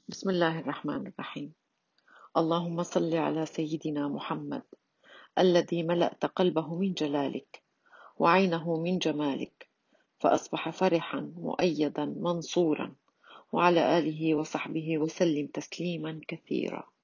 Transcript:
بسم الله الرحمن الرحيم. اللهم صل على سيدنا محمد الذي ملأت قلبه من جلالك وعينه من جمالك، فأصبح فرحا مؤيدا منصورا، وعلى آله وصحبه وسلم تسليما كثيرا.